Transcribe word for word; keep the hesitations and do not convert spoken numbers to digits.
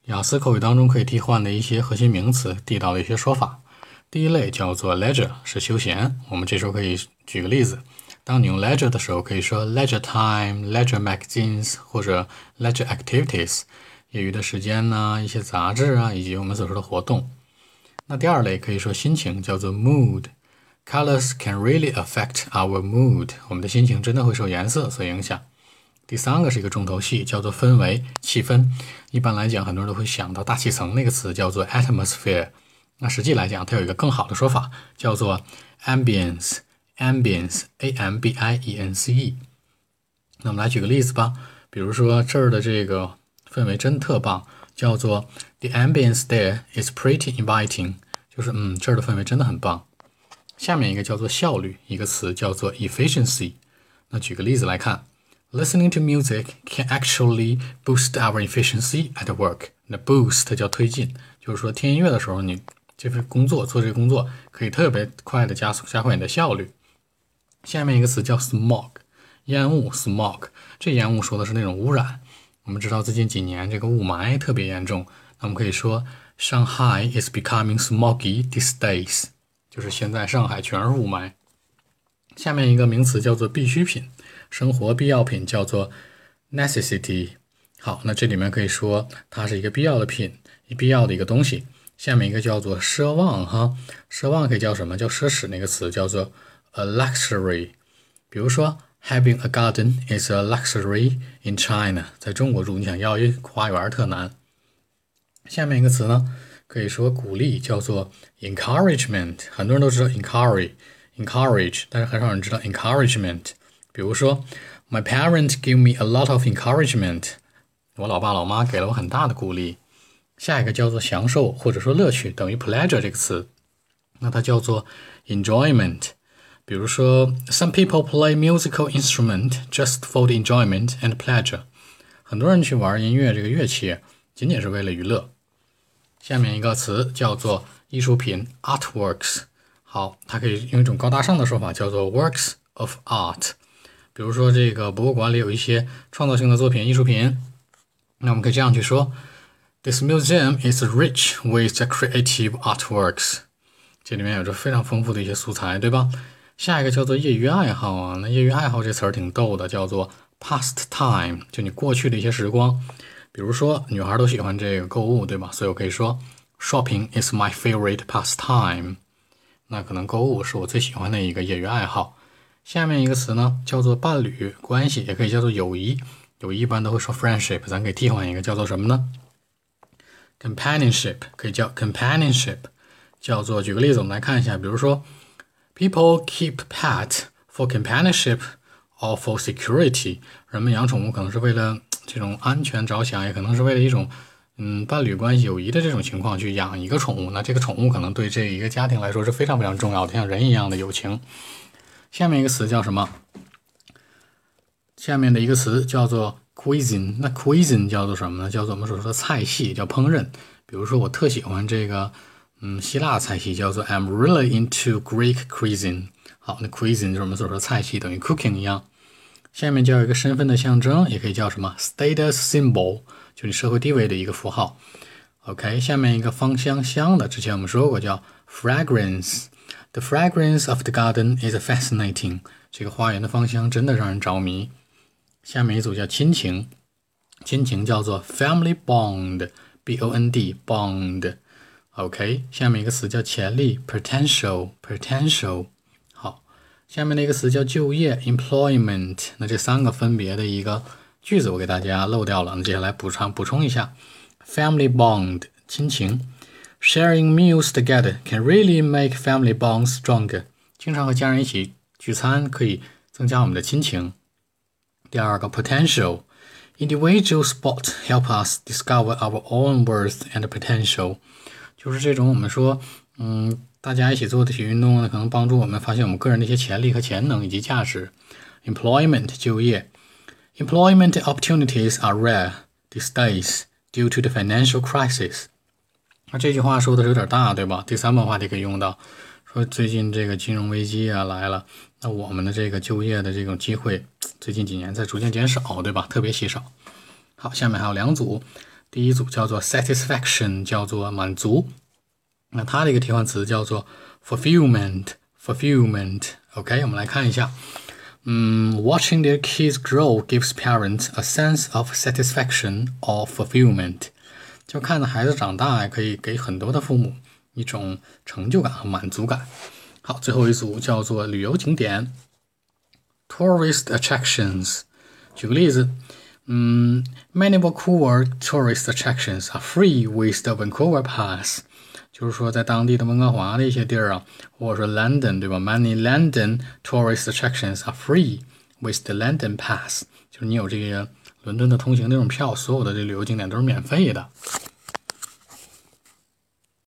雅思口语当中可以替换的一些核心名词，地道的一些说法。第一类叫做 leisure， 是休闲。我们这时候可以举个例子，当你用 leisure 的时候，可以说 leisure time、leisure magazines 或者 leisure activities， 业余的时间呢，一些杂志啊，以及我们所说的活动。那第二类可以说心情，叫做 mood。Colors can really affect our mood， 我们的心情真的会受颜色所影响。第三个是一个重头戏，叫做氛围、气氛。一般来讲，很多人都会想到大气层那个词，叫做 atmosphere。那实际来讲，它有一个更好的说法，叫做 ambience。ambience，a m b i e n c e。那我们来举个例子吧，比如说这儿的这个氛围真特棒，叫做 the ambience there is pretty inviting， 就是嗯，这儿的氛围真的很棒。下面一个叫做效率，一个词叫做 efficiency。那举个例子来看。Listening to music can actually boost our efficiency at work. 那 boost 叫推进，就是说听音乐的时候，你这份工作做这个工作可以特别快的加速加快你的效率。下面一个词叫 smog， 烟雾 smog， 这烟雾说的是那种污染。我们知道最近几年这个雾霾特别严重，那我们可以说 Shanghai is becoming smoggy these days， 就是现在上海全是雾霾。下面一个名词叫做必需品。生活必要品叫做 necessity。 好，那这里面可以说它是一个必要的品，必要的一个东西。下面一个叫做奢望哈，奢望可以叫什么？叫奢侈，那个词叫做 a luxury。 比如说 having a garden is a luxury in China， 在中国住你想要一花园特难。下面一个词呢，可以说鼓励，叫做 encouragement。 很多人都知道 encourage encourage， 但是很少人知道 encouragement。比如说 My parents give me a lot of encouragement， 我老爸老妈给了我很大的鼓励。下一个叫做享受或者说乐趣，等于 pleasure 这个词，那它叫做 enjoyment。 比如说 Some people play musical instrument just for the enjoyment and pleasure， 很多人去玩音乐这个乐器仅仅是为了娱乐。下面一个词叫做艺术品 artworks， 好，它可以用一种高大上的说法叫做 works of art。比如说这个博物馆里有一些创造性的作品艺术品，那我们可以这样去说 This museum is rich with the creative artworks， 这里面有着非常丰富的一些素材，对吧？下一个叫做业余爱好啊，那业余爱好这词儿挺逗的，叫做 pastime， 就你过去的一些时光。比如说女孩都喜欢这个购物，对吧？所以我可以说 Shopping is my favorite pastime， 那可能购物是我最喜欢的一个业余爱好。下面一个词呢叫做伴侣关系，也可以叫做友谊。友谊一般都会说 friendship， 咱可以替换一个叫做什么呢？ companionship， 可以叫 companionship， 叫做举个例子我们来看一下，比如说 People keep pet for companionship or for security， 人们养宠物可能是为了这种安全着想，也可能是为了一种嗯伴侣关系友谊的这种情况去养一个宠物，那这个宠物可能对这一个家庭来说是非常非常重要的，像人一样的友情。下面一个词叫什么？下面的一个词叫做 cuisine。 那 cuisine 叫做什么呢？叫做我们所说的菜系，叫烹饪。比如说我特喜欢这个嗯希腊菜系，叫做 I'm really into Greek cuisine。 好，那 cuisine 就是我们所说的菜系，等于 cooking 一样。下面叫一个身份的象征，也可以叫什么 status symbol， 就你社会地位的一个符号。 OK， 下面一个芳香香的，之前我们说过叫 fragrance。The fragrance of the garden is fascinating， 这个花园的芳香真的让人着迷。下面一组叫亲情，亲情叫做 family bond， B O N D bond。 OK， 下面一个词叫潜力 potential potential。 好，下面的一个词叫就业 employment。 那这三个分别的一个句子我给大家漏掉了，那接下来补充补充一下。 family bond 亲情，Sharing meals together can really make family bonds stronger。 经常和家人一起聚餐可以增加我们的亲情。第二个 potential， individual sport help us discover our own worth and potential， 就是这种我们说嗯，大家一起做的体育运动呢，可能帮助我们发现我们个人的一些潜力和潜能以及价值。 employment 就业， employment opportunities are rare these days due to the financial crisis。那这句话说的是有点大，对吧？第三本话题可以用到，说最近这个金融危机啊来了，那我们的这个就业的这种机会最近几年在逐渐减少，对吧？特别稀少。好，下面还有两组第一组叫做 satisfaction， 叫做满足。那它的一个替换词叫做 fulfillment。fulfillment。OK， 我们来看一下。嗯 ，Watching their kids grow gives parents a sense of satisfaction or fulfillment。就看着孩子长大，可以给很多的父母一种成就感和满足感。好，最后一组叫做旅游景点 ，tourist attractions。举个例子，嗯 ，Many Vancouver tourist attractions are free with the Vancouver Pass。就是说，在当地的温哥华的一些地儿啊，或者说 London， 对吧 ？Many London tourist attractions are free with the London Pass。就是你有这个伦敦的通行那种票，所有的这旅游景点都是免费的。